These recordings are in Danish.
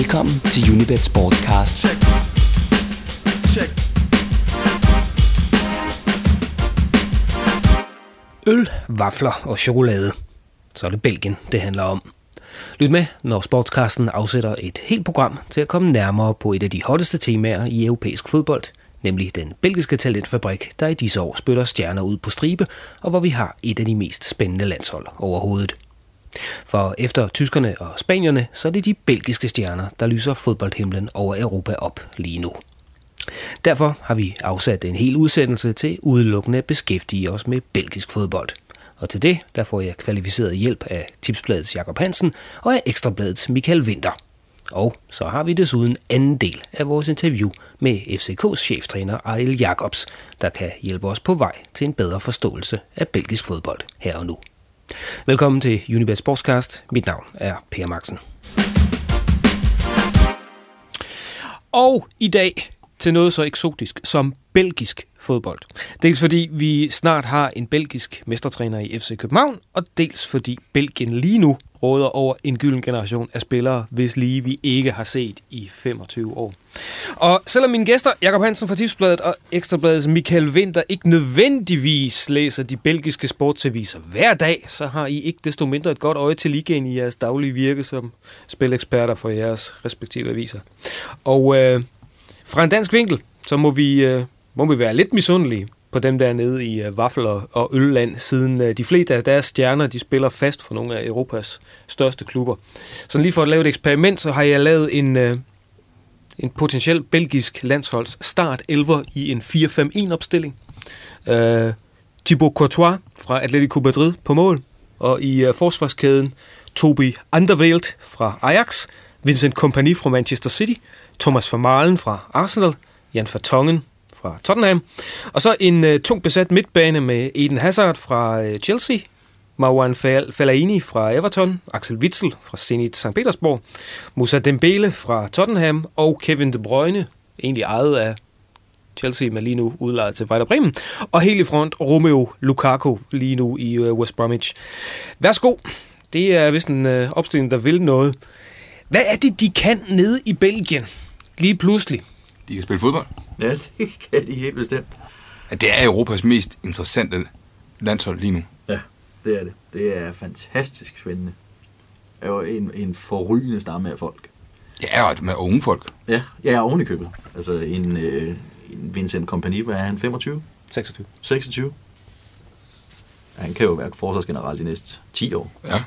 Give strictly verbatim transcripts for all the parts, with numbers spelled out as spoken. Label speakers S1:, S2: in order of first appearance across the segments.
S1: Velkommen til Unibet Sportscast.
S2: Check. Check.
S3: Øl, vafler og chokolade. Så er det Belgien, det handler om. Lyt med, når Sportscasten afsætter et helt program til at komme nærmere på et af de hotteste temaer i europæisk fodbold, nemlig den belgiske talentfabrik, der i disse år spytter stjerner ud på stribe, og hvor vi har et af de mest spændende landshold overhovedet. For efter tyskerne og spanierne, så er det de belgiske stjerner, der lyser fodboldhimlen over Europa op lige nu. Derfor har vi afsat en hel udsendelse til udelukkende at beskæftige os med belgisk fodbold. Og til det, der får jeg kvalificeret hjælp af Tipsbladets Jakob Hansen og af Ekstrabladets Michael Winther. Og så har vi desuden anden del af vores interview med F C K's cheftræner Ariel Jacobs, der kan hjælpe os på vej til en bedre forståelse af belgisk fodbold her og nu. Velkommen til Unibet Sportscast. Mit navn er Per Maxen. Og i dag til noget så eksotisk som belgisk fodbold. Dels fordi vi snart har en belgisk mestertræner i F C København, og dels fordi Belgien lige nu råder over en gylden generation af spillere, hvis lige vi ikke har set i femogtyve år. Og selvom mine gæster, Jakob Hansen fra Tipsbladet og Ekstrabladets Michael Winther, ikke nødvendigvis læser de belgiske sportsaviser hver dag, så har I ikke desto mindre et godt øje til ligaen i jeres daglige virke som spileksperter for jeres respektive aviser. Og øh, fra en dansk vinkel, så må vi, øh, må vi være lidt misundelige på dem der nede i øh, vaffel- og ølland, siden øh, de fleste af deres stjerner, de spiller fast for nogle af Europas største klubber. Så lige for at lave et eksperiment, så har jeg lavet en, øh, en potentiel belgisk landsholds start elver i en fire fem en opstilling. Øh, Thibaut Courtois fra Atletico Madrid på mål, og i øh, forsvarskæden Toby Alderweireld fra Ajax, Vincent Kompany fra Manchester City, Thomas Vermaelen fra Arsenal, Jan Vertonghen fra Tottenham, og så en uh, tungt besat midtbane med Eden Hazard fra uh, Chelsea, Marouane Fellaini fra Everton, Axel Witsel fra Zenit Sankt Petersborg, Moussa Dembele fra Tottenham og Kevin De Bruyne, egentlig ejet af Chelsea, men lige nu udlejet til Werder Bremen, og helt i front Romelu Lukaku lige nu i uh, West Bromwich. Værsgo, det er vist en uh, opstilling, der vil noget. Hvad er det, de kan nede i Belgien lige pludselig?
S4: De kan spille fodbold.
S5: Ja, det kan de helt bestemt.
S4: Ja, det er Europas mest interessante landshold lige nu.
S5: Ja, det er det. Det er fantastisk spændende. Det er jo en, en forrygende stamme af folk.
S4: Ja, og med unge folk.
S5: Ja, ja, oven i købet. Altså en, øh, en Vincent Kompany, hvad er han? femogtyve?
S3: seksogtyve.
S5: seksogtyve? Ja, han kan jo være forsvarsgeneral de næste ti år.
S4: Ja.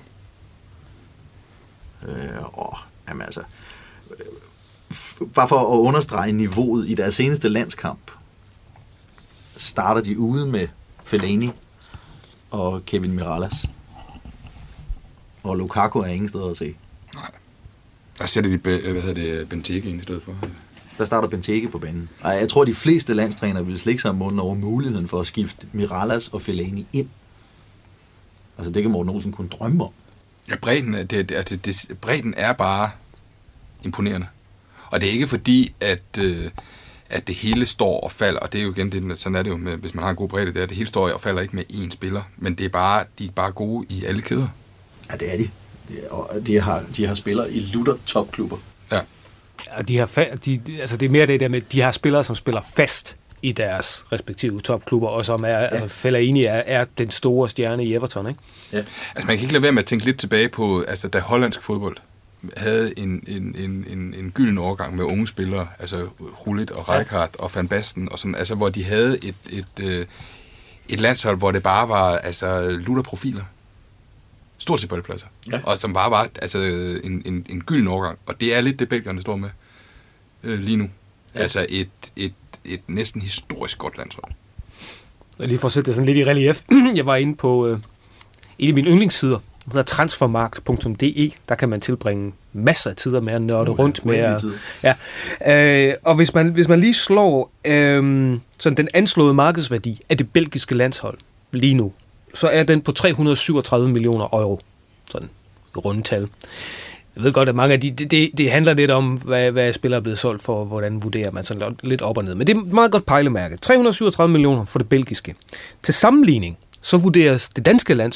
S5: Øh, åh, jamen altså... Øh, bare for at understrege niveauet i deres seneste landskamp, starter de ude med Fellaini og Kevin Mirallas. Og Lukaku er ingen steder at se.
S4: Nej. Der sætter de, hvad hedder det, Benteke ind i stedet for.
S5: Der starter Benteke på banen. Og jeg tror, de fleste landstrænere vil slikke sig om munden over muligheden for at skifte Mirallas og Fellaini ind. Altså det kan Morten Olsen kun drømme om.
S4: Ja, bredden, det, det, altså, det, bredden er bare imponerende. Og det er ikke fordi, at, øh, at det hele står og falder, og det er jo igen, det, sådan er det jo, med, hvis man har en god bredde, det er, det hele står og falder ikke med én spiller, men det er bare, de er bare gode i alle kæder.
S5: Ja, det er de. De, og de, har, de har spillere i lutter topklubber.
S4: Ja.
S3: Ja, de har fa- de, altså det er mere det der med, de har spillere, som spiller fast i deres respektive topklubber, og som er, ja. altså Fellaini er, er den store stjerne i Everton, ikke?
S5: Ja.
S4: Altså man kan ikke lade være med at tænke lidt tilbage på, altså da hollandsk fodbold havde en, en, en, en, en gylden overgang med unge spillere, altså Gullit og Rijkaard ja. og Van Basten, og sådan, altså hvor de havde et, et, et, et landshold, hvor det bare var altså lutter profiler. Stort set på alle pladser. Ja. Og som bare var altså, en, en, en gylden overgang. Og det er lidt det, belgierne står med øh, lige nu. Ja. Altså et, et, et næsten historisk godt landshold.
S3: Jeg lige for at sætte det sådan lidt i relief. Jeg var inde på øh, en af mine yndlingssider, der hedder transfermarkt punktum d e. Der kan man tilbringe masser af tider med at nørde uh, rundt med. At, ja. øh, og hvis man, hvis man lige slår øh, sådan den anslåede markedsværdi af det belgiske landshold lige nu, så er den på tre hundrede syvogtredive millioner euro. Sådan i rundetal. Jeg ved godt, at mange af de, det, det, det handler lidt om, hvad, hvad spillere er blevet solgt for, og hvordan vurderer man sådan lidt op og ned. Men det er et meget godt pejlemærke. tre hundrede syvogtredive millioner for det belgiske. Til sammenligning, så vurderes det danske landshold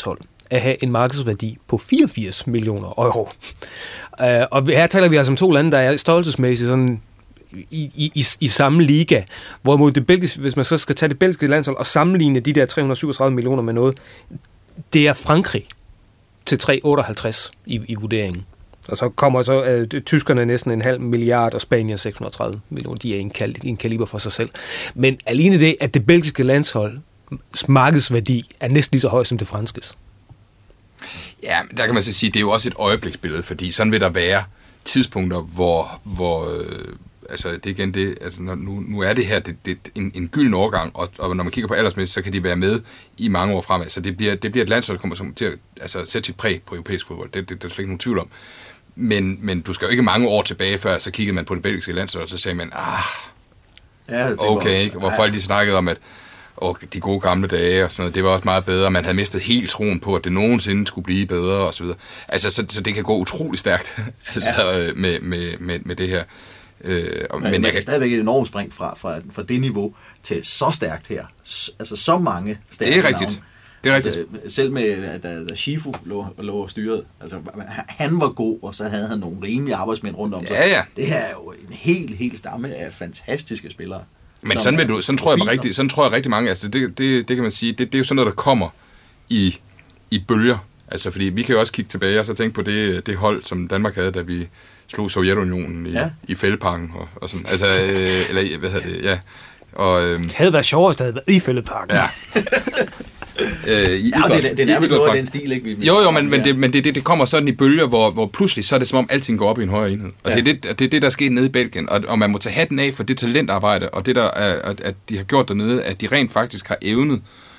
S3: at have en markedsværdi på fireogfirs millioner euro. Uh, og her taler vi altså om to lande, der er størrelsesmæssigt sådan i, i, i, i samme liga, hvorimod det belgiske, hvis man så skal tage det belgiske landshold og sammenligne de der tre hundrede syvogtredive millioner med noget, det er Frankrig til tre hundrede otteoghalvtreds i, i vurderingen. Og så kommer så uh, tyskerne næsten en halv milliard, og Spanien seks hundrede og tredive millioner. De er en, kal- en kaliber for sig selv. Men alene det, at det belgiske landshold markedsværdi er næsten lige så høj som det franskes.
S4: Ja, der kan man så sige, det er jo også et øjebliksbillede, fordi sådan vil der være tidspunkter, hvor, hvor øh, altså det er igen det, altså nu, nu er det her det, det, en, en gylden overgang, og, og når man kigger på aldersmæssigt, så kan de være med i mange år fremad. Så det bliver, det bliver et landshold, der kommer til at altså, sætte sit præg på europæisk fodbold. Det, det, det er slet ikke nogen tvivl om. Men, men du skal jo ikke mange år tilbage, før så kiggede man på det belgiske landshold, og så sagde man, ah,
S5: Ja, det
S4: okay, ikke? Hvor folk de snakkede om, at og de gode gamle dage og sådan noget, det var også meget bedre. Man havde mistet helt troen på, at det nogensinde skulle blive bedre og så videre. Altså, så, så det kan gå utrolig stærkt altså, ja. med, med, med, med det her. Øh,
S5: men,
S4: men
S5: men
S4: jeg kan
S5: stadigvæk et enormt spring fra, fra, fra det niveau til så stærkt her. S- altså så mange stærke
S4: Det er rigtigt.
S5: navne.
S4: Det er rigtigt.
S5: Altså, selv med, da, da Shifu lå, lå styret, altså han var god, og så havde han nogle rimelige arbejdsmænd rundt om sig.
S4: Ja, ja.
S5: Det her er jo en helt, helt stamme af fantastiske spillere.
S4: Men sådan, vil du, sådan, tror jeg, man rigtig, sådan tror jeg rigtig mange, altså det, det, det kan man sige, det, det er jo sådan noget, der kommer i, i bølger. Altså fordi vi kan jo også kigge tilbage og så tænke på det, det hold, som Danmark havde, da vi slog Sovjetunionen i, ja. i Fældeparken og, og sådan. Altså, øh, eller hvad hedder det, ja. Og, øh,
S3: det havde været sjovere, hvis det havde været i Fældeparken.
S4: Ja. øh, i,
S5: ja, det, det er nærmest noget af den stil, ikke? Vi,
S4: jo, jo, men, men, det, men det, det kommer sådan i bølger, hvor, hvor pludselig så er det som om alting går op i en højere enhed. Og ja. det, er det, det er det, der er sket nede i Belgien. Og, og man må tage hatten af for det talentarbejde, og det, der er, at, at de har gjort dernede, at de rent faktisk har evnet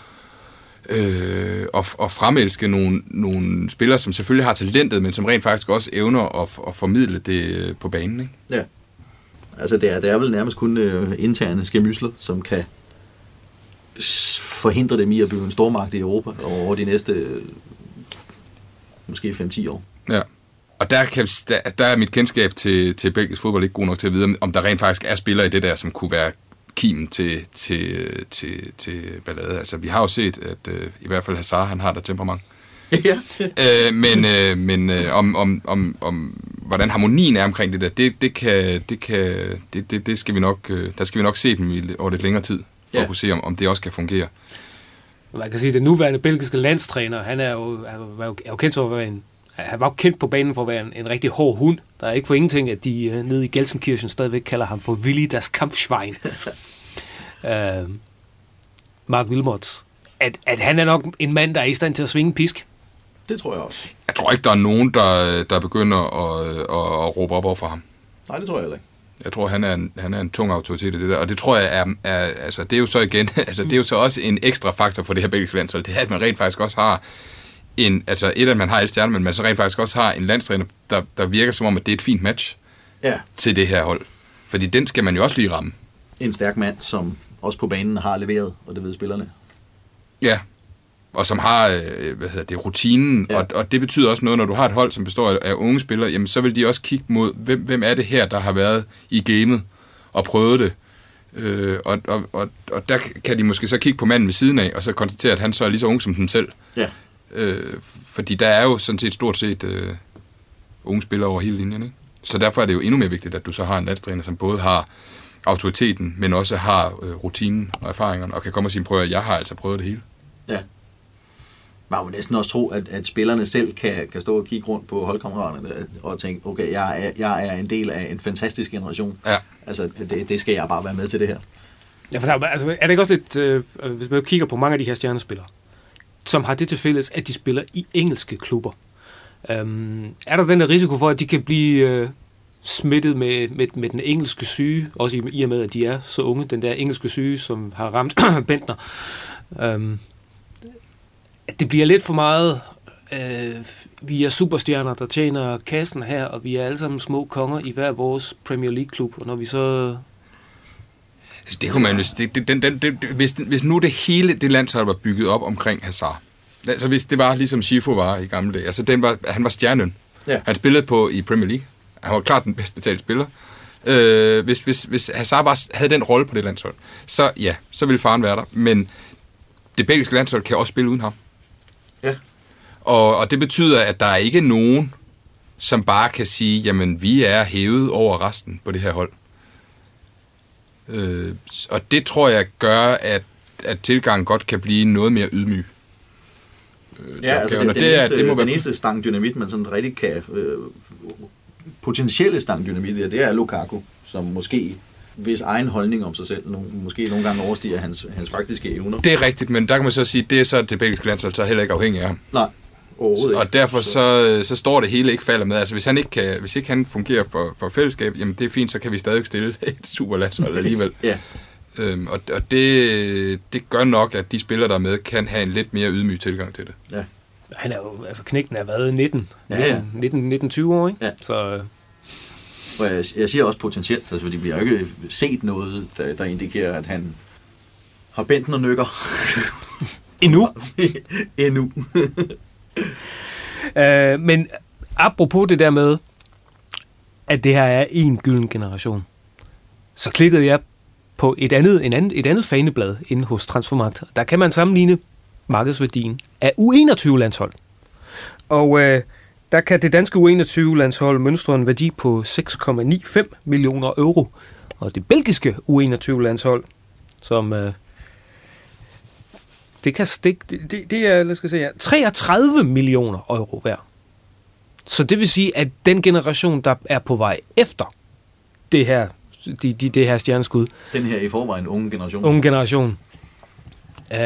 S4: øh, at, at fremelske nogle, nogle spillere, som selvfølgelig har talentet, men som rent faktisk også evner at, at formidle det på banen, ikke?
S5: Ja. Altså, det er, det er vel nærmest kun øh, interne skærmysler, som kan forhindre dem i at blive en stormagt i Europa over de næste øh, måske fem til ti år.
S4: Ja, og der, kan, der, der er mit kendskab til, til belgisk fodbold ikke god nok til at vide, om der rent faktisk er spillere i det der, som kunne være kimen til, til, til, til ballade. Altså, vi har jo set, at øh, i hvert fald Hazard, han har der temperament.
S5: Ja.
S4: øh, men øh, men øh, om, om, om, om hvordan harmonien er omkring det der, det, det kan, det kan, det, det, det skal vi nok, øh, der skal vi nok se dem i, over lidt længere tid, for ja. at kunne se, om, om det også kan fungere.
S3: Man kan sige, at den nuværende belgiske landstræner, han er jo, er jo, er jo kendt for at være en, han var jo kendt på banen for at være en, en rigtig hård hund. Der er ikke for ingenting, at de uh, nede i Gelsenkirchen stadigvæk kalder ham for Willy das Kampfschwein. uh, Mark Wilmots. At, at han er nok en mand, der er i stand til at svinge pisk.
S5: Det tror jeg også.
S4: Jeg tror ikke, der er nogen, der, der begynder at, at, at råbe op over for ham.
S5: Nej, det tror jeg heller ikke.
S4: Jeg tror, han er en, han er en tung autoritet i det der, og det tror jeg er, er altså det er jo så igen, altså det er jo så også en ekstra faktor for det her belgiske landshold, det er, at man rent faktisk også har en, altså et af man har alle stjerner, men man så rent faktisk også har en landstræner, der, der virker som om, at det er et fint match
S5: ja. til
S4: det her hold. Fordi den skal man jo også lige ramme.
S5: En stærk mand, som også på banen har leveret, og det ved spillerne.
S4: Ja, og som har, hvad hedder det, rutinen, ja. og, og det betyder også noget, når du har et hold, som består af, af unge spillere, jamen så vil de også kigge mod, hvem, hvem er det her, der har været i gamet og prøvet det. Øh, og, og, og, og der kan de måske så kigge på manden ved siden af, og så konstatere, at han så er lige så ung som dem selv.
S5: Ja.
S4: Øh, fordi der er jo sådan set stort set øh, unge spillere over hele linjen, ikke? Så derfor er det jo endnu mere vigtigt, at du så har en landstræner, som både har autoriteten, men også har øh, rutinen og erfaringerne, og kan komme og sige, prøv at jeg har altså prøvet det hele.
S5: Ja. Man må næsten også tro, at, at spillerne selv kan, kan stå og kigge rundt på holdkammeraterne og tænke, okay, jeg er, jeg er en del af en fantastisk generation.
S4: Ja.
S5: Altså, det, det skal jeg bare være med til det her.
S3: Ja, for der, altså, er det ikke også lidt, øh, hvis man kigger på mange af de her stjernespillere, som har det til fælles, at de spiller i engelske klubber. Um, er der den der risiko for, at de kan blive øh, smittet med, med, med den engelske syge, også i, i og med, at de er så unge, den der engelske syge, som har ramt Bentner, um, at det bliver lidt for meget, øh, vi er superstjerner, der tjener kassen her, og vi er alle sammen små konger i hver vores Premier League-klub, og når vi så...
S4: Det kunne man jo... Det, det, den, den, det, hvis, hvis nu det hele det landshold var bygget op omkring Hazard, altså hvis det var ligesom Schifo var i gamle dage, altså den var, han var stjernen.
S5: Ja.
S4: Han spillede på i Premier League. Han var klart den bedst betalte spiller. Øh, hvis, hvis, hvis Hazard var, havde den rolle på det landshold, så ja, så ville faren være der. Men det belgiske landshold kan også spille uden ham.
S5: Ja.
S4: Og, og det betyder, at der er ikke nogen, som bare kan sige, jamen, vi er hævet over resten på det her hold. Øh, og det tror jeg gør, at, at tilgangen godt kan blive noget mere ydmyg. Øh,
S5: ja, altså det, det, det, eneste, det må den eneste stang dynamit, man sådan rigtig kan... Øh, potentielle stang dynamit, det er Lukaku, som måske... hvis egen holdning om sig selv no, måske nogle gange overstiger hans, hans faktiske evner.
S4: Det er rigtigt, men der kan man så sige, at det er så det belgiske landshold, så er heller ikke afhængig af ham.
S5: Nej, overhovedet ikke.
S4: Og derfor så, så står det hele ikke falder med. Altså hvis han ikke kan, hvis ikke han fungerer for, for fællesskab, jamen det er fint, så kan vi stadig stille et superlandshold alligevel.
S5: Ja.
S4: Øhm, og og det, det gør nok, at de spillere, der er med, kan have en lidt mere ydmyg tilgang til det.
S5: Ja.
S3: Han er jo, altså knægten er været nitten,
S5: ja, ja.
S3: nitten, nitten tyve år, ikke?
S5: Ja.
S3: Så...
S5: Og jeg, jeg siger også potentielt, altså, fordi vi har jo ikke set noget, der, der indikerer, at han har bændt og nykker.
S3: Endnu.
S5: Endnu.
S3: uh, men apropos det der med, at det her er en gylden generation, så klikkede jeg på et andet, en anden, et andet faneblad inde hos Transfermarkt. Der kan man sammenligne markedsværdien af U enogtyve-landshold. Og... Uh, der kan det danske U enogtyve-landshold mønstre en værdi på seks komma femoghalvfems millioner euro. Og det belgiske U enogtyve-landshold, som øh, det kan det, det, det er, lad os se her, treogtredive millioner euro værd. Så det vil sige, at den generation, der er på vej efter det her, de, de, det her stjerneskud,
S5: den her i forvejen unge generation,
S3: unge generation, øh,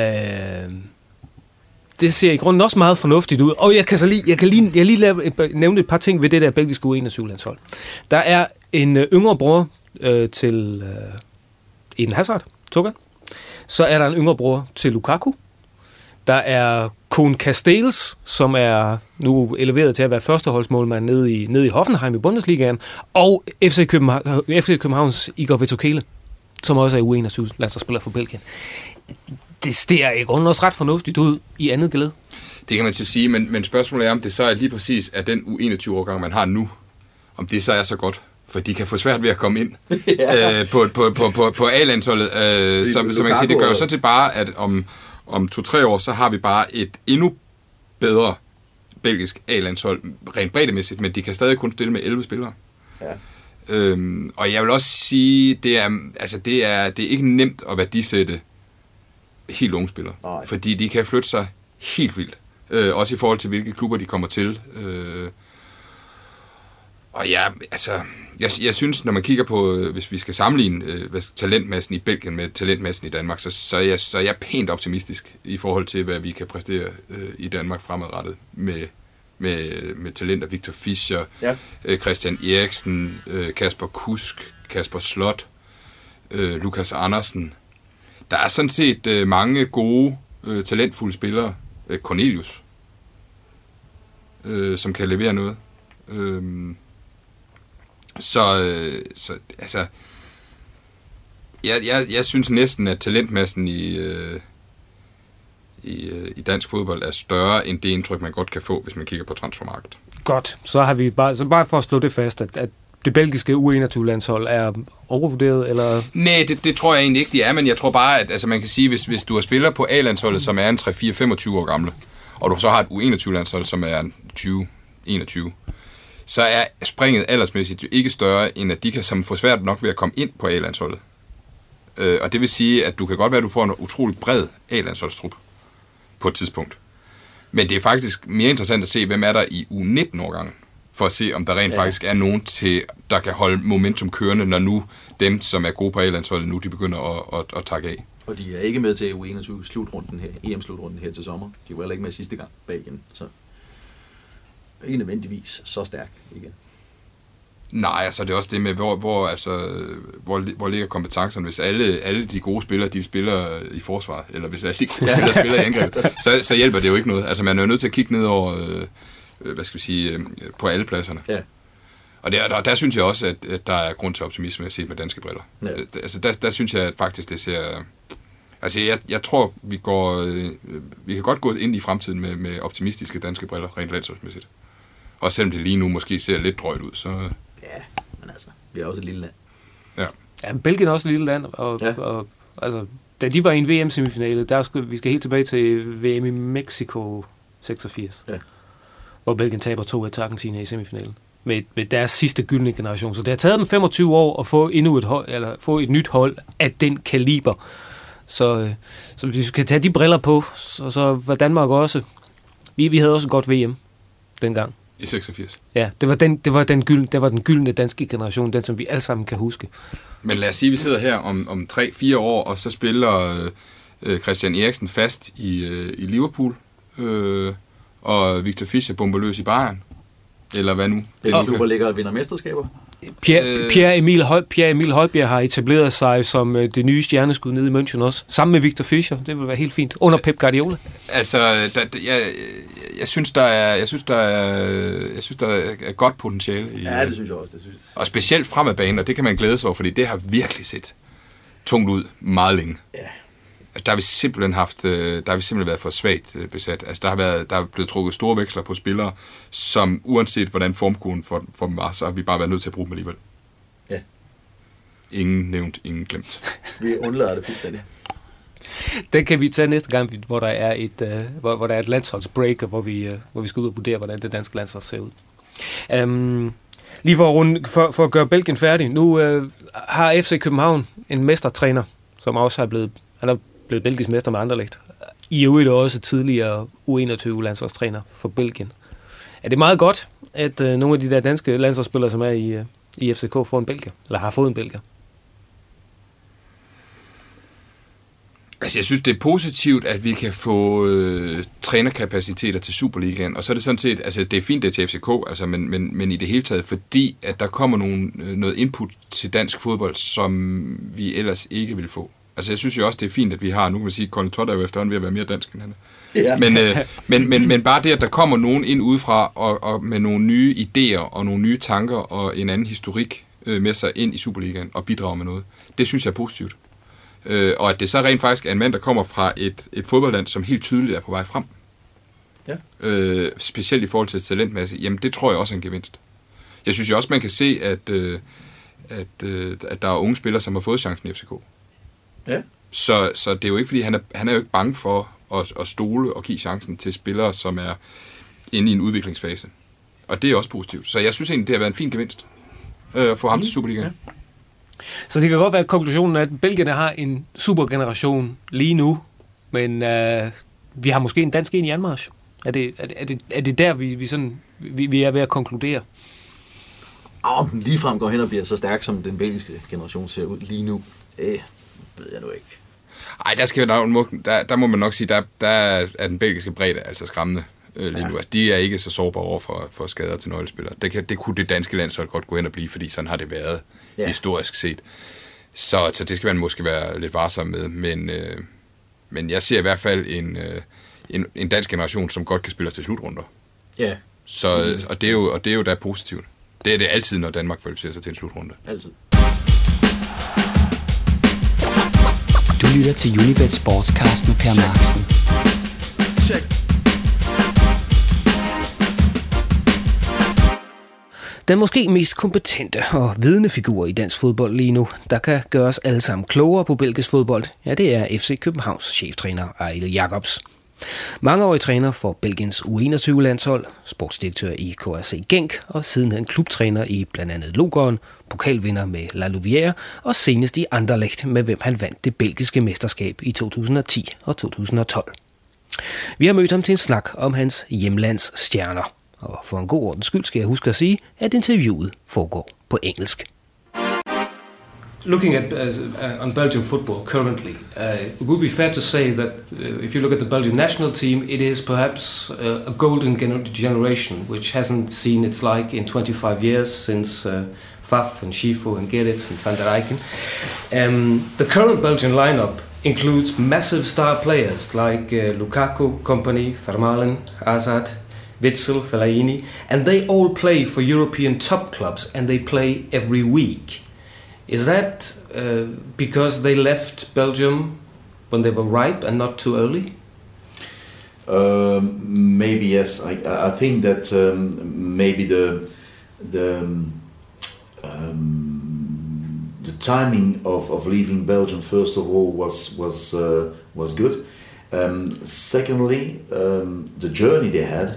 S3: det ser i grunden også meget fornuftigt ud. Og jeg kan så lige, jeg kan lige, jeg lige lave et, nævne et par ting ved det der belgiske U enogtyve-landshold. Der er en øh, yngre bror øh, til øh, Eden Hazard, Tuchel. Så er der en yngre bror til Lukaku. Der er Koen Castells, som er nu eleveret til at være førsteholdsmålmand nede i, nede i Hoffenheim i Bundesligaen. Og F C, København, F C Københavns Igor Vetokele, som også er U enogtyve-landsholdsspiller for Belgien. Det ser i grunden også ret fornuftigt ud i andet geled.
S4: Det kan man til sige, men, men spørgsmålet er, om det så er lige præcis af den U enogtyve-årgang, man har nu, om det så er så godt. For de kan få svært ved at komme ind ja. øh, på, på, på, på, på A-landsholdet. Øh, så, så man kan sige, det gør jo sådan set bare, at om, om to-tre år, så har vi bare et endnu bedre belgisk A-landshold, rent breddemæssigt, men de kan stadig kun stille med elleve spillere. Ja. Øhm, og jeg vil også sige, det er, altså det er, det er ikke nemt at værdisætte helt unge spillere, nej. Fordi de kan flytte sig helt vildt. Øh, også i forhold til, hvilke klubber de kommer til. Øh, og ja, altså, jeg, jeg synes, når man kigger på, hvis vi skal sammenligne øh, talentmassen i Belgien med talentmassen i Danmark, så, så, er jeg, så er jeg pænt optimistisk i forhold til, hvad vi kan præstere øh, i Danmark fremadrettet med, med, med talenter. Victor Fischer, ja. øh, Christian Eriksen, øh, Kasper Kusk, Kasper Slot, øh, Lukas Andersen. Der er sådan set øh, mange gode, øh, talentfulde spillere. Øh, Cornelius, øh, som kan levere noget. Øh, så, øh, så, altså... Jeg, jeg, jeg synes næsten, at talentmassen i, øh, i, øh, i dansk fodbold er større, end det indtryk, man godt kan få, hvis man kigger på transfermarkedet.
S3: Godt. Så har vi bare, så bare for at slå det fast, at, at det belgiske U enogtyve-landshold er overvurderet, eller? Nej,
S4: det, det tror jeg egentlig ikke, de er, men jeg tror bare, at altså, man kan sige, hvis, hvis du har spiller på A-landsholdet, som er en tre fire femogtyve år gamle, og du så har et U enogtyve-landshold, som er tyve enogtyve, så er springet aldersmæssigt ikke større, end at de kan som få svært nok ved at komme ind på A-landsholdet. Øh, og det vil sige, at du kan godt være, at du får en utrolig bred A-landsholdstrup på et tidspunkt. Men det er faktisk mere interessant at se, hvem er der i U nitten-årgangen, for at se, om der rent ja. faktisk er nogen, til, der kan holde momentum kørende, når nu dem, som er gode på A-landsholdet nu, de begynder at, at, at takke af.
S5: Og de er ikke med til U enogtyve-slutrunden her, E M-slutrunden her til sommer. De var heller ikke med sidste gang Belgien, så ikke nødvendigvis så stærk igen.
S4: Nej, altså det er også det med, hvor, hvor, altså, hvor, hvor ligger kompetencerne, hvis alle, alle de gode spillere, de spiller i forsvaret, eller hvis alle de gode spillere spiller i angreb, så, så hjælper det jo ikke noget. Altså man er jo nødt til at kigge ned over, øh, hvad skal vi sige, øh, på alle pladserne. Ja. Og der, der, der synes jeg også, at, at der er grund til optimisme set med danske briller. Ja. Altså der, der synes jeg at faktisk, det ser... Altså jeg, jeg tror, vi går, øh, vi kan godt gå ind i fremtiden med, med optimistiske danske briller, rent landsholdsmæssigt. Og selvom det lige nu måske ser lidt drøjt ud, så...
S5: Ja, men altså, vi er også et lille land.
S4: Ja.
S3: Ja, Belgien er også et lille land, og, ja. og altså, da de var i en V M-semifinale, der skal, vi skal helt tilbage til V M i Mexico seksogfirs.
S5: Ja.
S3: Hvor Belgien taber to et til Argentina i semifinalen. Med, med deres sidste gyldne generation. Så det har taget dem femogtyve år at få endnu et hold, eller få et nyt hold af den kaliber. Så, øh, så hvis vi skal tage de briller på, så, så var Danmark også... Vi, vi havde også et godt V M dengang.
S4: I seksogfirs.
S3: Ja, det var den, det var den, gyld, det var den gyldne danske generation, den som vi alle sammen kan huske.
S4: Men lad os sige, at vi sidder her om, om tre fire år, og så spiller øh, Christian Eriksen fast i, øh, i Liverpool, øh, og Victor Fischer bomber løs i Bayern. Eller hvad nu?
S5: Hvilke klubber ligger og vinder mesterskaber?
S3: Pierre, øh, Pierre, Emil Høj, Pierre Emil Højbjerg har etableret sig som øh, det nye stjerneskud nede i München også, sammen med Victor Fischer. Det vil være helt fint. Under Pep Guardiola.
S4: Altså, der, der, jeg, jeg synes, der er, jeg synes, der er, jeg synes, der er godt potentiale i.
S5: Ja, det synes jeg også. Det synes jeg.
S4: Og specielt fremad banen, og det kan man glæde sig over, fordi det har virkelig set tungt ud meget længe.
S5: Ja.
S4: Der har vi simpelthen haft, der har vi simpelthen været for svagt besat. Altså, der har været, der er blevet trukket store veksler på spillere, som uanset hvordan formkurven for, for dem var, så har vi bare været nødt til at bruge dem alligevel.
S5: Ja.
S4: Ingen nævnt, ingen glemt.
S5: Vi undlader det fuldstændig.
S3: Den kan vi tage næste gang, hvor der er et, uh, hvor, hvor der er et landsholdsbreak, og hvor vi, uh, hvor vi skal ud og vurdere, hvordan det danske landshold ser ud. Um, lige for at, runde, for, for at gøre Belgien færdig. Nu uh, har F C København en mestertræner, som også er blevet, han er blevet belgisk mester med Anderlecht. I øvrigt også tidligere U enogtyve landsholdstræner for Belgien. Er det meget godt, at uh, nogle af de der danske landsholdsspillere, som er i, uh, i F C K, får en belgier, eller har fået en belgier?
S4: Altså, jeg synes, det er positivt, at vi kan få øh, trænerkapaciteter til Superligaen, og så er det sådan set, altså det er fint, det er til F C K, altså, men, men, men i det hele taget, fordi at der kommer nogle, noget input til dansk fodbold, som vi ellers ikke vil få. Altså, jeg synes jo også, det er fint, at vi har, nu kan man sige, Colin Todd er jo efterhånden ved at være mere dansk end han er. Ja. Men, øh, men, men, men bare det, at der kommer nogen ind udefra, og, og med nogle nye idéer, og nogle nye tanker, og en anden historik øh, med sig ind i Superligaen, og bidrager med noget, det synes jeg er positivt. Øh, og at det så rent faktisk er en mand, der kommer fra et, et fodboldland, som helt tydeligt er på vej frem.
S5: Ja.
S4: Øh, specielt i forhold til talentmasse. Jamen, det tror jeg også er en gevinst. Jeg synes jo også, man kan se, at, øh, at, øh, at der er unge spillere, som har fået chancen i F C K.
S5: Ja.
S4: Så, så det er jo ikke, fordi han er, han er jo ikke bange for at, at stole og give chancen til spillere, som er inde i en udviklingsfase. Og det er også positivt. Så jeg synes egentlig, det har været en fin gevinst øh, at få ham mm. til Superligaen. Ja.
S3: Så det kan godt være konklusionen, at Belgierne har en supergeneration lige nu, men øh, vi har måske en dansk en i anmarch. Er det, er det, er det, er det der, vi, vi, sådan, vi, vi er ved at konkludere?
S5: Om den ligefrem går hen og bliver så stærk, som den belgiske generation ser ud lige nu, det ved jeg nu ikke.
S4: Ej, der, skal, der, der, der må man nok sige, der, der er den belgiske bredde altså skræmmende øh, lige nu. Altså, de er ikke så sårbare over for, for skader til nøglespillere. Det, kan, det kunne det danske landshold godt gå hen og blive, fordi sådan har det været ja. historisk set. Så, så det skal man måske være lidt varsom med. Men, øh, men jeg ser i hvert fald en, øh, en, en dansk generation, som godt kan spille os til slutrunder.
S5: Ja.
S4: Så, og, det er jo, og det er jo da positivt. Det er det altid, når Danmark kvalificerer sig til en slutrunde.
S5: Altid.
S1: Du lytter til Unibet Sportscast med Per Marksen.
S2: Check.
S3: Den måske mest kompetente og vidende figur i dansk fodbold lige nu, der kan gøre os alle sammen klogere på belgisk fodbold, ja, det er F C Københavns cheftræner Ejl Jacobs. Mangeårig træner for Belgiens U enogtyve landshold, sportsdirektør i K R C Genk og sidenhen klubtræner i blandt andet Lokeren, pokalvinder med La Louvière og senest i Anderlecht, med hvem han vandt det belgiske mesterskab i to tusind og ti og to tusind og tolv. Vi har mødt ham til en snak om hans hjemlands stjerner. Og for en god ordens skyld skal jeg huske at sige, at interviewet foregår på engelsk. Looking at uh, on Belgian football currently, uh, it would be fair to say that uh, if you look at the Belgian national team, it is perhaps uh, a golden gener- generation, which hasn't seen its like in twenty-five years since uh, Faf and Schifo and Gerrits and Van der Eycken. Um, the current Belgian lineup includes massive star players like uh, Lukaku, Kompany, Vermaelen, Hazard, Witsel, Fellaini, and they all play for European top clubs, and they play every week. Is that uh, because they left Belgium when they were ripe and not too early?
S6: Um, maybe yes. I, I think that um, maybe the the um, the timing of, of leaving Belgium first of all was was uh, was good, Um, secondly, um, the journey they had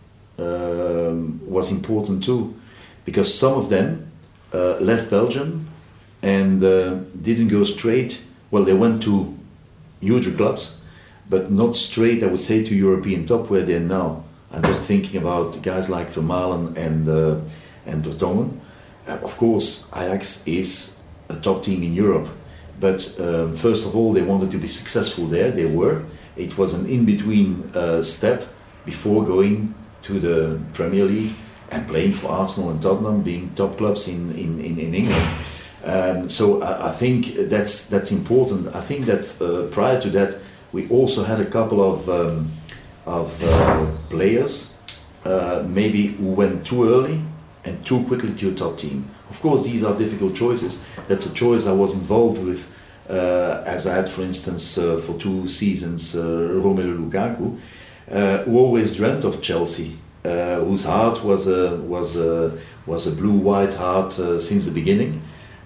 S6: um, was important too, because some of them uh, left Belgium and uh, didn't go straight. Well, they went to huger clubs, but not straight, I would say, to European top where they're now. I'm just thinking about guys like Vermaelen and uh, and Vertonghen. Uh, of course, Ajax is a top team in Europe, but uh, first of all, they wanted to be successful there. They were. It was an in-between uh, step before going to the Premier League and playing for Arsenal and Tottenham, being top clubs in in, in, in England. Um, so I, I think that's that's important. I think that uh, prior to that, we also had a couple of um, of uh, players uh, maybe who went too early and too quickly to a top team. Of course, these are difficult choices. That's a choice I was involved with, uh, as I had, for instance, uh, for two seasons, uh, Romelu Lukaku, uh, who always dreamt of Chelsea, uh, whose heart was a was a was a blue-white heart uh, since the beginning.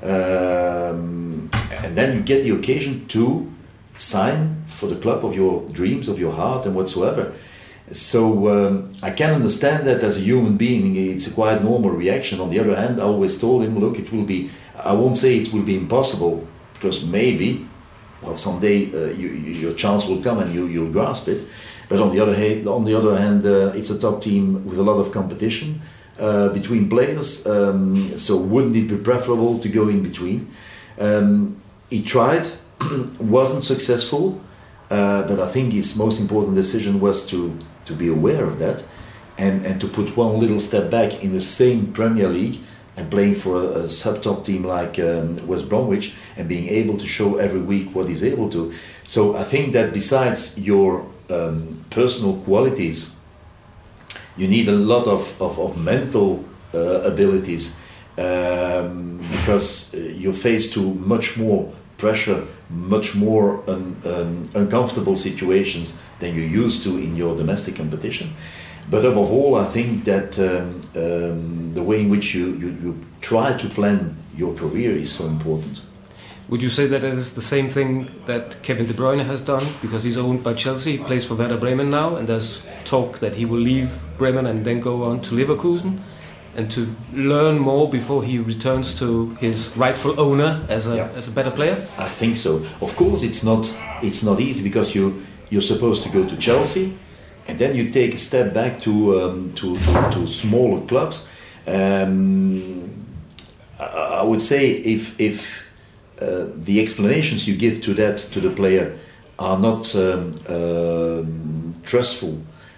S6: Um, and then you get the occasion to sign for the club of your dreams, of your heart and whatsoever. So um, I can understand that as a human being, it's a quite normal reaction. On the other hand, I always told him, look, it will be, I won't say it will be impossible, because maybe, well, someday uh, you, you, your chance will come and you, you'll grasp it. But on the other hand, on the other hand uh, it's a top team with a lot of competition uh, between players. Um, so wouldn't it be preferable to go in between? Um, he tried, wasn't successful, uh, but I think his most important decision was to, to be aware of that and, and to put one little step back in the same Premier League and playing for a, a sub-top team like um, West Bromwich and being able to show every week what he's able to. So I think that besides your um, personal qualities, you need a lot of, of, of mental uh, abilities um, because you're faced to much more pressure, much more un, un, uncomfortable situations than you're used to in your domestic competition. But above all, I think that um, um, the way in which you, you, you try to plan your career is so important.
S3: Would you say that it is the same thing that Kevin De Bruyne has done? Because he's owned by Chelsea, he plays for Werder Bremen now, and there's talk that he will leave Bremen and then go on to Leverkusen and to learn more before he returns to his rightful owner as a yeah. as a better player?
S6: I think so. Of course, it's not it's not easy because you you're supposed to go to Chelsea, and then you take a step back to um, to, to to smaller clubs. Um, I, I would say if if uh, the explanations you give to that to the player are not um, uh, trustful,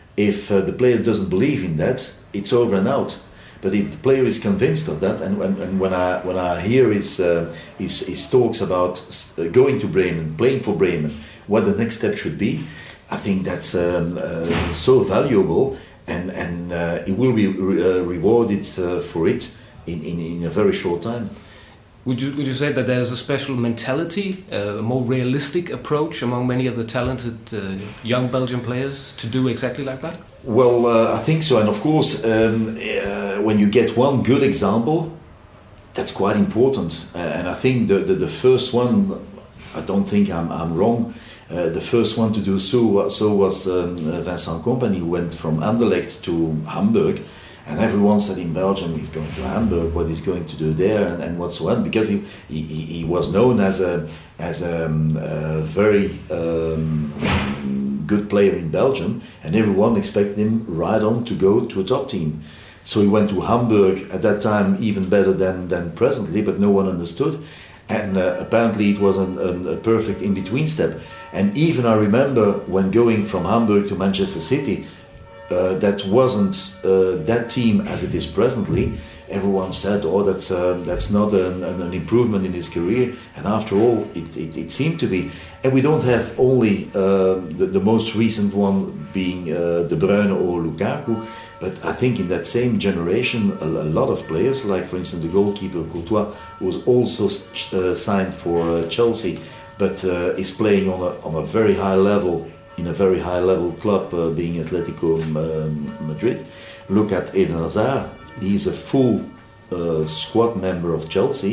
S6: if uh, the player doesn't believe in that, it's over and out. But if the player is convinced of that, and, and, and when I when I hear his, uh, his his talks about going to Bremen, playing for Bremen, what the next step should be, I think that's um, uh, so valuable, and and uh, he will be re- uh, rewarded uh, for it in, in, in a very short time.
S3: Would you would you say that there's a special mentality, uh, a more realistic approach among many of the talented uh, young Belgian players to do exactly like that?
S6: Well, uh, I think so, and of course, um, uh, when you get one good example, that's quite important. Uh, and I think the, the the first one, I don't think I'm I'm wrong. Uh, the first one to do so so was um, Vincent Kompany, who went from Anderlecht to Hamburg. And everyone said in Belgium he's going to Hamburg, what he's going to do there, and, and whatsoever, because he, he, he was known as a as a, um, a very um, good player in Belgium, and everyone expected him right on to go to a top team. So he went to Hamburg at that time, even better than, than presently, but no one understood. And uh, apparently it was an, an, a perfect in-between step. And even I remember when going from Hamburg to Manchester City, Uh, that wasn't uh, that team as it is presently. Everyone said, "Oh, that's uh, that's not an, an improvement in his career." And after all, it, it, it seemed to be. And we don't have only uh, the, the most recent one being uh, De Bruyne or Lukaku, but I think in that same generation, a, a lot of players, like for instance the goalkeeper Courtois, was also uh, signed for uh, Chelsea, but uh, is playing on a on a very high level. In a very high level club, uh, being Atletico um, Madrid. Look at Eden Hazard. He's a full uh, squad member of Chelsea,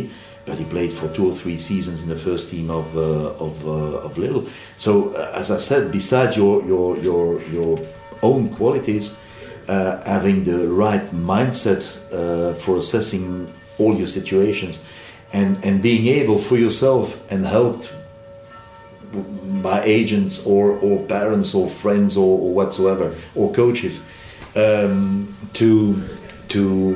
S6: but he played for two or three seasons in the first team of uh, of uh, of Lille. So, uh, as I said, besides your your your your own qualities, uh, having the right mindset uh, for assessing all your situations, and and being able for yourself and helped by agents or or parents or friends or, or whatsoever or coaches um, to to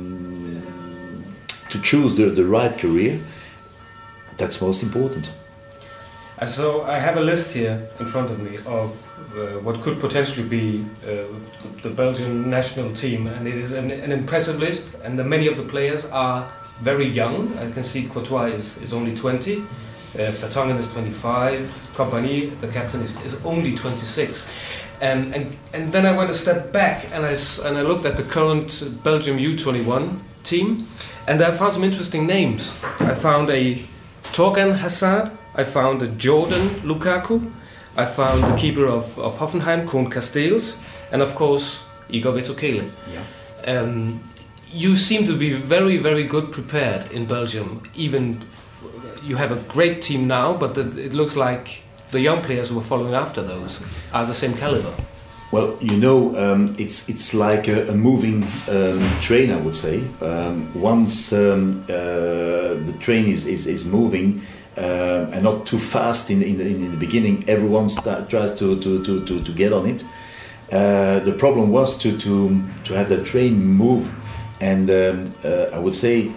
S6: to choose the, the right career, that's most important.
S3: And so I have a list here in front of me of uh, what could potentially be uh, the Belgian national team, and it is an, an impressive list, and the, many of the players are very young. I can see Courtois is, is only twenty, uh, Vertonghen is twenty-five, Kompany, the captain, is, is only twenty-six. And, and and then I went a step back and I, and I looked at the current Belgium U twenty-one team, and I found some interesting names. I found a Thorgan Hazard, I found a Jordan Lukaku, I found the keeper of, of Hoffenheim, Koen Casteels, and of course Igor Vetokele. Yeah. Um, you seem to be very, very good prepared in Belgium. Even f- you have a great team now, but the, it looks like the young players who are following after those are the same caliber.
S6: Well, you know, um, it's it's like a, a moving um, train, I would say. Um, once um, uh, the train is, is, is moving uh, and not too fast in, in, in the beginning, everyone start, tries to, to, to, to, to get on it. Uh, the problem was to, to, to have the train move, and um, uh, I would say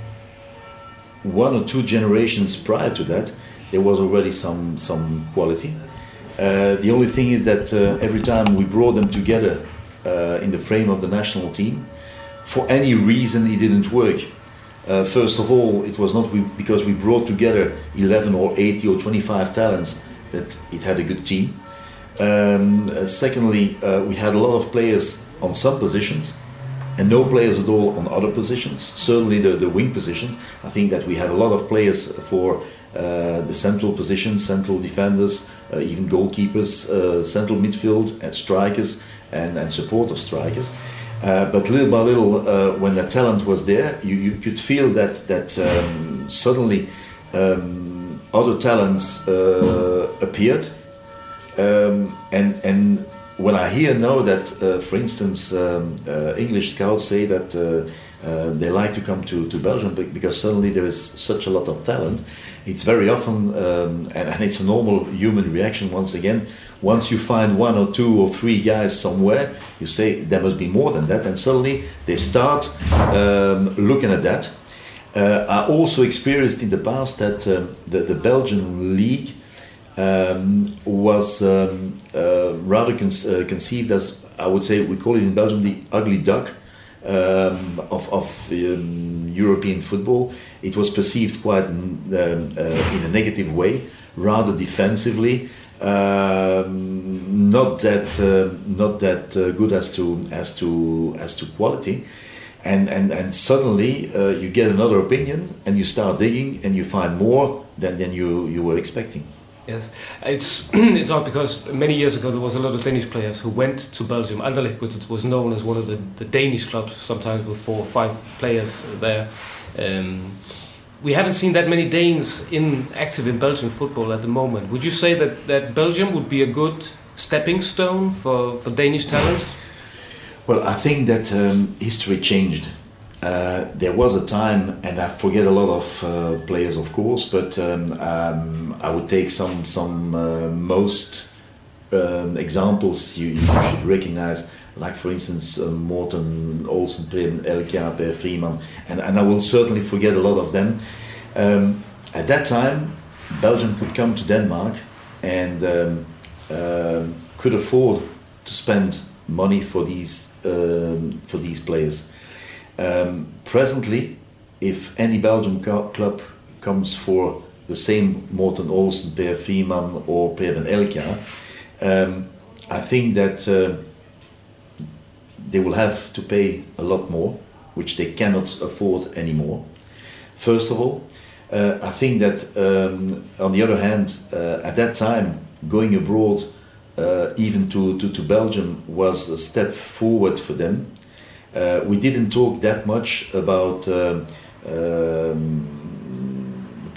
S6: one or two generations prior to that, there was already some some quality. Uh, the only thing is that uh, every time we brought them together uh, in the frame of the national team, for any reason it didn't work. Uh, first of all, it was not we, because we brought together eleven or eighty or twenty-five talents that it had a good team. Um, uh, secondly, uh, we had a lot of players on some positions and no players at all on other positions, certainly the, the wing positions. I think that we had a lot of players for Uh, the central positions, central defenders, uh, even goalkeepers, uh, central midfield, and strikers, and, and supportive strikers. Uh, but little by little, uh, when the talent was there, you, you could feel that that um, suddenly um, other talents uh, appeared. Um, and and when I hear now that, uh, for instance, um, uh, English scouts say that uh, uh, they like to come to, to Belgium because suddenly there is such a lot of talent. It's very often, um, and, and it's a normal human reaction once again, once you find one or two or three guys somewhere, you say there must be more than that, and suddenly they start um, looking at that. Uh, I also experienced in the past that um, the, the Belgian league um, was um, uh, rather con- uh, conceived as, I would say, we call it in Belgium the ugly duck um, of, of um, European football. It was perceived quite um, uh, in a negative way, rather defensively, um, not that uh, not that uh, good as to as to as to quality, and and and suddenly uh, you get another opinion and you start digging and you find more than than you you were expecting.
S3: Yes, it's it's odd because many years ago there was a lot of Danish players who went to Belgium. Anderlecht was known as one of the, the Danish clubs, sometimes with four or five players there. Um, we haven't seen that many Danes in active in Belgian football at the moment. Would you say that, that Belgium would be a good stepping stone for, for Danish talents?
S6: Well, I think that um, history changed. Uh, there was a time, and I forget a lot of uh, players, of course, but um, um, I would take some some uh, most um, examples you, you should recognize, like for instance uh, Morten Olsen, Preben Elkjær, Per Freeman, and, and I will certainly forget a lot of them. Um, at that time, Belgium could come to Denmark and um, uh, could afford to spend money for these um, for these players. Um, presently, if any Belgian co- club comes for the same Morten Olsen, Per Freeman or Preben Elkjær, um, I think that uh, they will have to pay a lot more, which they cannot afford anymore. First of all, uh, I think that um, on the other hand, uh, at that time, going abroad, uh, even to, to, to Belgium, was a step forward for them. Uh, we didn't talk that much about um, um,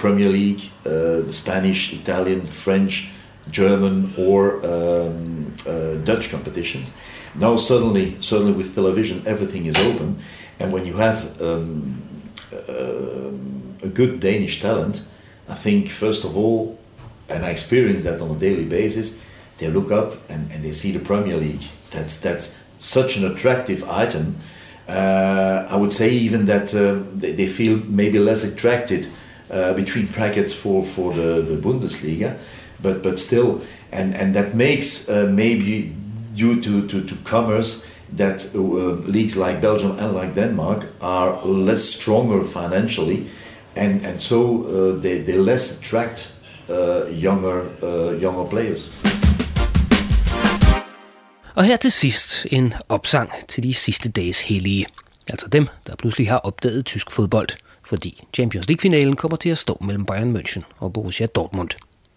S6: Premier League, uh, the Spanish, Italian, French, German, or um, uh, Dutch competitions. Now suddenly, suddenly with television, everything is open, and when you have um, uh, a good Danish talent, I think first of all, and I experience that on a daily basis, they look up and, and they see the Premier League. That's that's such an attractive item. Uh, I would say even that uh, they, they feel maybe less attracted uh, between brackets for, for the, the Bundesliga, but but still, and, and that makes uh, maybe due to, to, to commerce that uh, leagues like Belgium and like Denmark are less stronger financially, and, and so uh, they, they less attract uh, younger, uh, younger players.
S3: Og her til sidst en opsang til de sidste dages hellige. Altså dem, der pludselig har opdaget tysk fodbold, fordi Champions League-finalen kommer til at stå mellem Bayern München og Borussia Dortmund.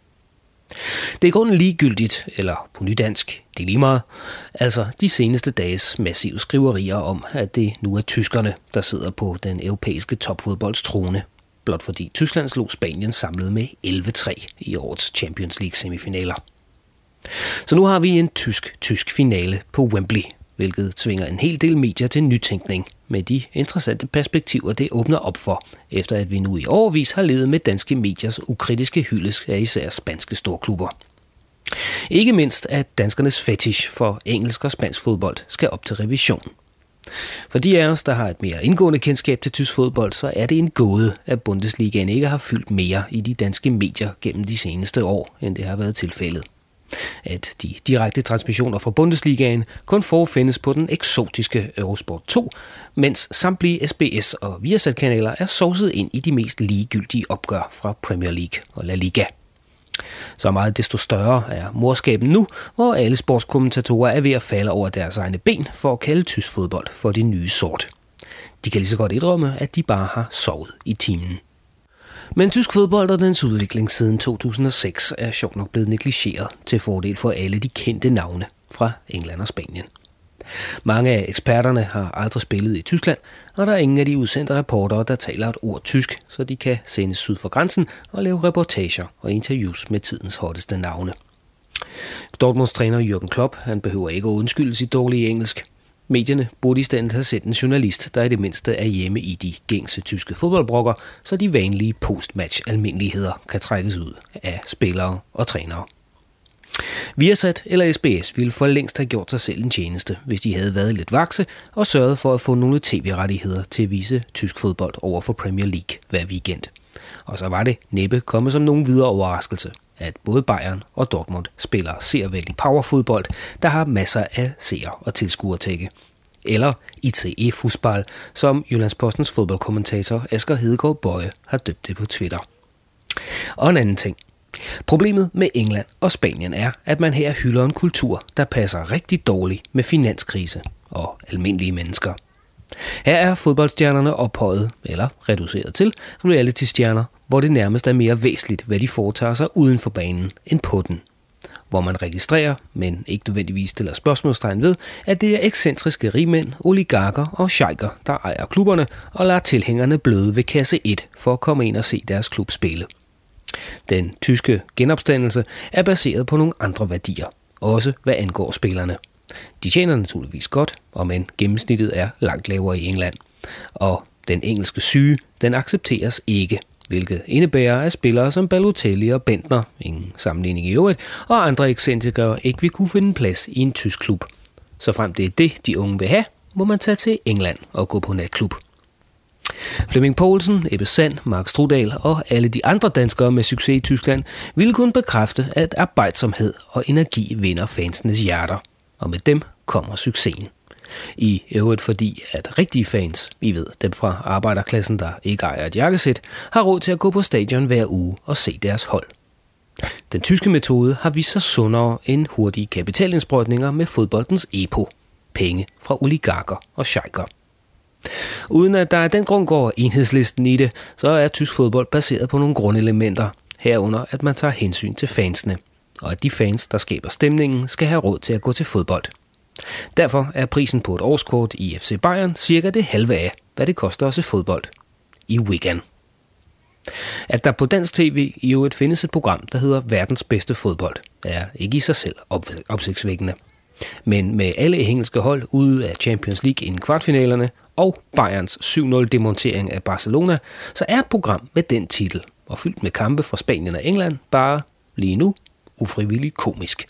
S3: Det er i grunden ligegyldigt, eller på nydansk, det er lige meget, altså de seneste dages massive skriverier om, at det nu er tyskerne, der sidder på den europæiske topfodbolds trone, blot fordi Tyskland slog Spanien samlet med elleve tre i årets Champions League-semifinaler. Så nu har vi en tysk-tysk finale på Wembley, hvilket tvinger en hel del medier til nytænkning med de interessante perspektiver, det åbner op for, efter at vi nu i årevis har levet med danske mediers ukritiske hyldest af især spanske storklubber. Ikke mindst at danskernes fetish for engelsk og spansk fodbold skal op til revision. For de af os, der har et mere indgående kendskab til tysk fodbold, så er det en gåde, at Bundesligaen ikke har fyldt mere i de danske medier gennem de seneste år, end det har været tilfældet. At de direkte transmissioner fra Bundesligaen kun forfindes på den eksotiske Eurosport to, mens samtlige S B S og Viasat-kanaler er sovset ind i de mest ligegyldige opgør fra Premier League og La Liga. Så meget desto større er morskaben nu, hvor alle sportskommentatorer er ved at falde over deres egne ben for at kalde tysk fodbold for det nye sort. De kan lige så godt indrømme, at de bare har sovet i timen. Men tysk fodbold og dens udvikling siden to tusind og seks er sjovt nok blevet negligeret til fordel for alle de kendte navne fra England og Spanien. Mange af eksperterne har aldrig spillet i Tyskland, og der er ingen af de udsendte reportere, der taler et ord tysk, så de kan sendes syd for grænsen og lave reportager og interviews med tidens hotteste navne. Dortmunds træner Jürgen Klopp, han behøver ikke at undskylde sit dårlige engelsk. Medierne burde i stedet have sendt en journalist, der i det mindste er hjemme i de gængse tyske fodboldbrokker, så de vanlige postmatch-almindeligheder kan trækkes ud af spillere og trænere. Viasat eller S B S ville for længst have gjort sig selv en tjeneste, hvis de havde været lidt vakse og sørget for at få nogle tv-rettigheder til at vise tysk fodbold over for Premier League hver weekend. Og så var det næppe kommet som nogen videre overraskelse, at både Bayern og Dortmund spiller seervældig powerfodbold, der har masser af seere og tilskuertække. Eller I T E-fodbold, som Jyllandspostens fodboldkommentator Asger Hedegaard Bøje har døbt det på Twitter. Og en anden ting. Problemet med England og Spanien er, at man her hylder en kultur, der passer rigtig dårligt med finanskrise og almindelige mennesker. Her er fodboldstjernerne ophøjet, eller reduceret til, reality-stjerner, hvor det nærmest er mere væsentligt, hvad de foretager sig uden for banen end på den. Hvor man registrerer, men ikke nødvendigvis stiller spørgsmålstegn ved, at det er ekscentriske rigmænd, oligarker og sheiker, der ejer klubberne og lader tilhængerne bløde ved kasse et for at komme ind og se deres klub spille. Den tyske genopstandelse er baseret på nogle andre værdier, også hvad angår spillerne. De tjener naturligvis godt, og men gennemsnittet er langt lavere i England. Og den engelske syge, den accepteres ikke, hvilket indebærer, at spillere som Balotelli og Bentner, ingen sammenligning i øvrigt, og andre excentrikere ikke vil kunne finde plads i en tysk klub. Så frem det er det, de unge vil have, må man tage til England og gå på natklub. Flemming Poulsen, Ebbe Sand, Mark Strudal og alle de andre danskere med succes i Tyskland ville kunne bekræfte, at arbejdsomhed og energi vinder fansenes hjerter. Og med dem kommer succesen. I øvrigt fordi, at rigtige fans, vi ved dem fra arbejderklassen, der ikke ejer et jakkesæt, har råd til at gå på stadion hver uge og se deres hold. Den tyske metode har vist sig sundere end hurtige kapitalindsprøjtninger med fodboldens epo. Penge fra oligarker og sheiker. Uden at der af den grund går enhedslisten i det, så er tysk fodbold baseret på nogle grundelementer, herunder at man tager hensyn til fansene, og at de fans, der skaber stemningen, skal have råd til at gå til fodbold. Derfor er prisen på et årskort i F C Bayern cirka det halve af, hvad det koster at se fodbold i Wigan. At der på dansk tv i øvrigt findes et program, der hedder Verdens bedste fodbold, er ikke i sig selv op- opsigtsvækkende. Men med alle engelske hold ude af Champions League inden kvartfinalerne og Bayerns syv nul demontering af Barcelona, så er et program med den titel og fyldt med kampe fra Spanien og England bare lige nu ufrivilligt komisk.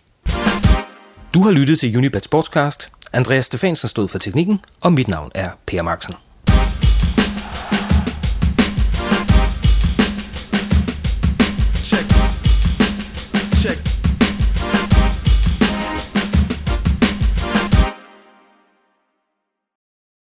S3: Du har lyttet til Unibet Sportscast. Andreas Stefansen stod for teknikken, og mit navn er Per Marksen.